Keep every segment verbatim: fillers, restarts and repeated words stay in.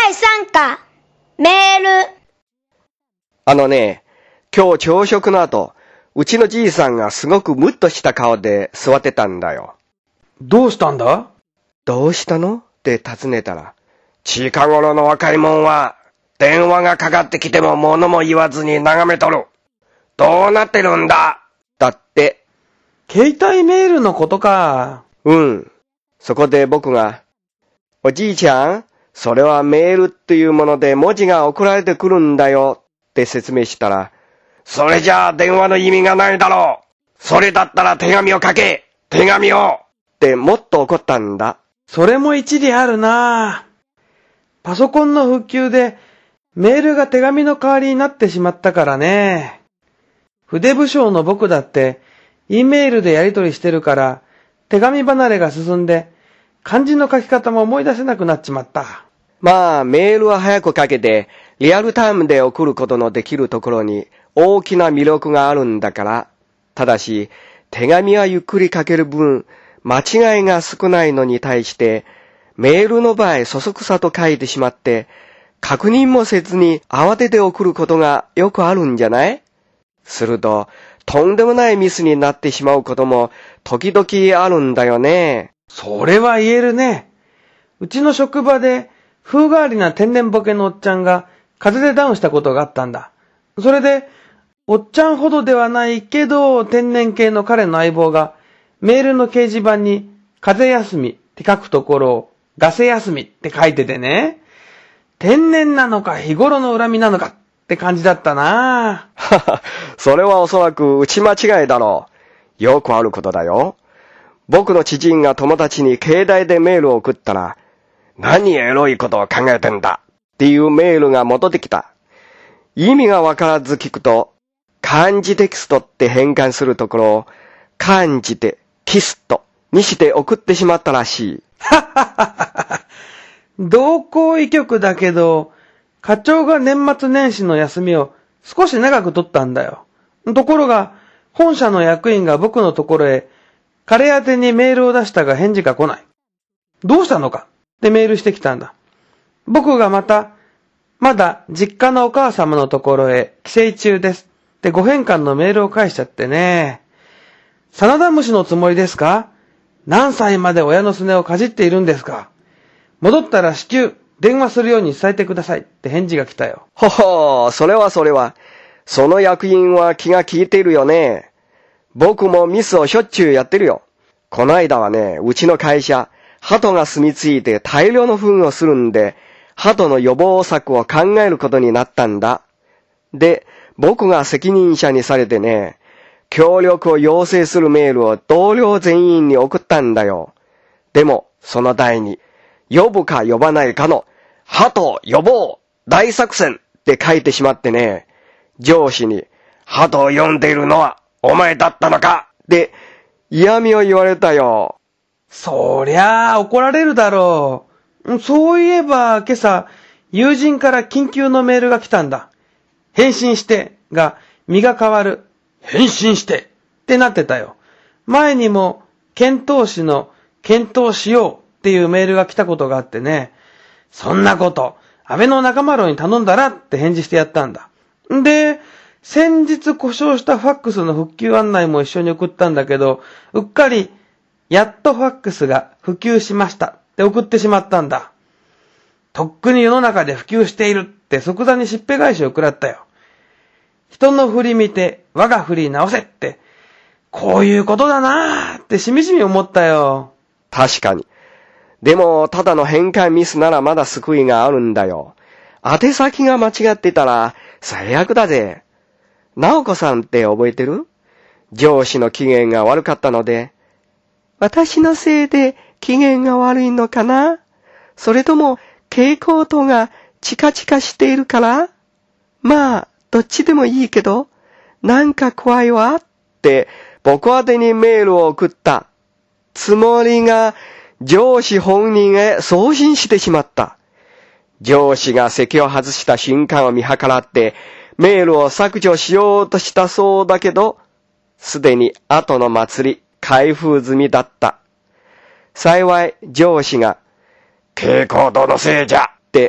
だいさんかん、メール。 あのね、今日朝食の後、うちのじいさんがすごくムッとした顔で座ってたんだよ。 どうしたんだ？ どうしたの？って尋ねたら、近頃の若いもんは、電話がかかってきても物も言わずに眺めとる。どうなってるんだ？だって。 携帯メールのことか。 うん。そこで僕が、おじいちゃん、それはメールっていうもので文字が送られてくるんだよって説明したら、それじゃあ電話の意味がないだろう。それだったら手紙を書け。手紙をってもっと怒ったんだ。 それも一理あるな。パソコンの普及でメールが手紙の代わりになってしまったからね。筆武将の僕だって E メールでやり取りしてるから手紙離れが進んで漢字の書き方も思い出せなくなっちまった。 まあメールは早く書けてリアルタイムで送ることのできるところに大きな魅力があるんだから。ただし手紙はゆっくり書ける分間違いが少ないのに対してメールの場合そそくさと書いてしまって確認もせずに慌てて送ることがよくあるんじゃない？するととんでもないミスになってしまうことも時々あるんだよね。 それは言えるね。うちの職場で風変わりな天然ボケのおっちゃんが風邪でダウンしたことがあったんだ。それでおっちゃんほどではないけど天然系の彼の相棒がメールの掲示板に風邪休みって書くところをガセ休みって書いててね。天然なのか日頃の恨みなのかって感じだったな。 はは、それはおそらく打ち間違いだろう。よくあることだよ。僕の知人が友達に携帯でメールを送ったら、何エロいことを考えてんだっていうメールが戻ってきた。意味がわからず聞くと、漢字テキストって変換するところを、漢字でキストにして送ってしまったらしい。 はははは。同行異曲だけど、課長が年末年始の休みを少し長く取ったんだよ。ところが、本社の役員が僕のところへ、彼宛てにメールを出したが返事が来ない。どうしたのかってメールしてきたんだ。僕がまた、まだ実家のお母様のところへ帰省中ですってご返還のメールを返しちゃってね。真田虫のつもりですか？何歳まで親のすねをかじっているんですか？戻ったら至急電話するように伝えてくださいって返事が来たよ。 ほほー、それはそれは。その役員は気が利いているよね。僕もミスをしょっちゅうやってるよ。この間はね、うちの会社、鳩が住み着いて大量の糞をするんで、鳩の予防策を考えることになったんだ。で、僕が責任者にされてね、協力を要請するメールを同僚全員に送ったんだよ。でも、その題に、呼ぶか呼ばないかの、鳩予防大作戦って書いてしまってね、上司に、鳩を呼んでいるのはお前だったのかって嫌味を言われたよ。 そりゃあ怒られるだろう。そういえば今朝、友人から緊急のメールが来たんだ。返信してが身が変わる。返信してってなってたよ。前にも検討しの検討しようっていうメールが来たことがあってね。そんなこと、安倍の中丸に頼んだらって返事してやったんだ。で、先日故障したファックスの復旧案内も一緒に送ったんだけど、うっかり、やっとファックスが普及しましたって送ってしまったんだ。とっくに世の中で普及しているって即座にしっぺ返しを食らったよ。人の振り見て我が振り直せって、こういうことだなーってしみじみ思ったよ。 確かに。でも、ただの変換ミスならまだ救いがあるんだよ。宛先が間違ってたら最悪だぜ。直子さんって覚えてる？上司の機嫌が悪かったので、私のせいで機嫌が悪いのかな？それとも蛍光灯がチカチカしているから？まあ、どっちでもいいけど、なんか怖いわって僕宛てにメールを送ったつもりが上司本人へ送信してしまった。上司が席を外した瞬間を見計らってメールを削除しようとしたそうだけど、すでに後の祭り開封済みだった。幸い上司が蛍光灯のせいじゃって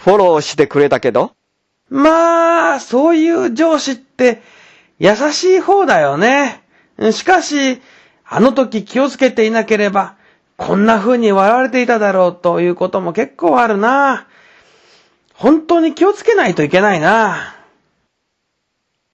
フォローしてくれたけど。 まあ、そういう上司って優しい方だよね。しかし、あの時気をつけていなければ、こんな風に笑われていただろうということも結構あるな。本当に気をつけないといけないな。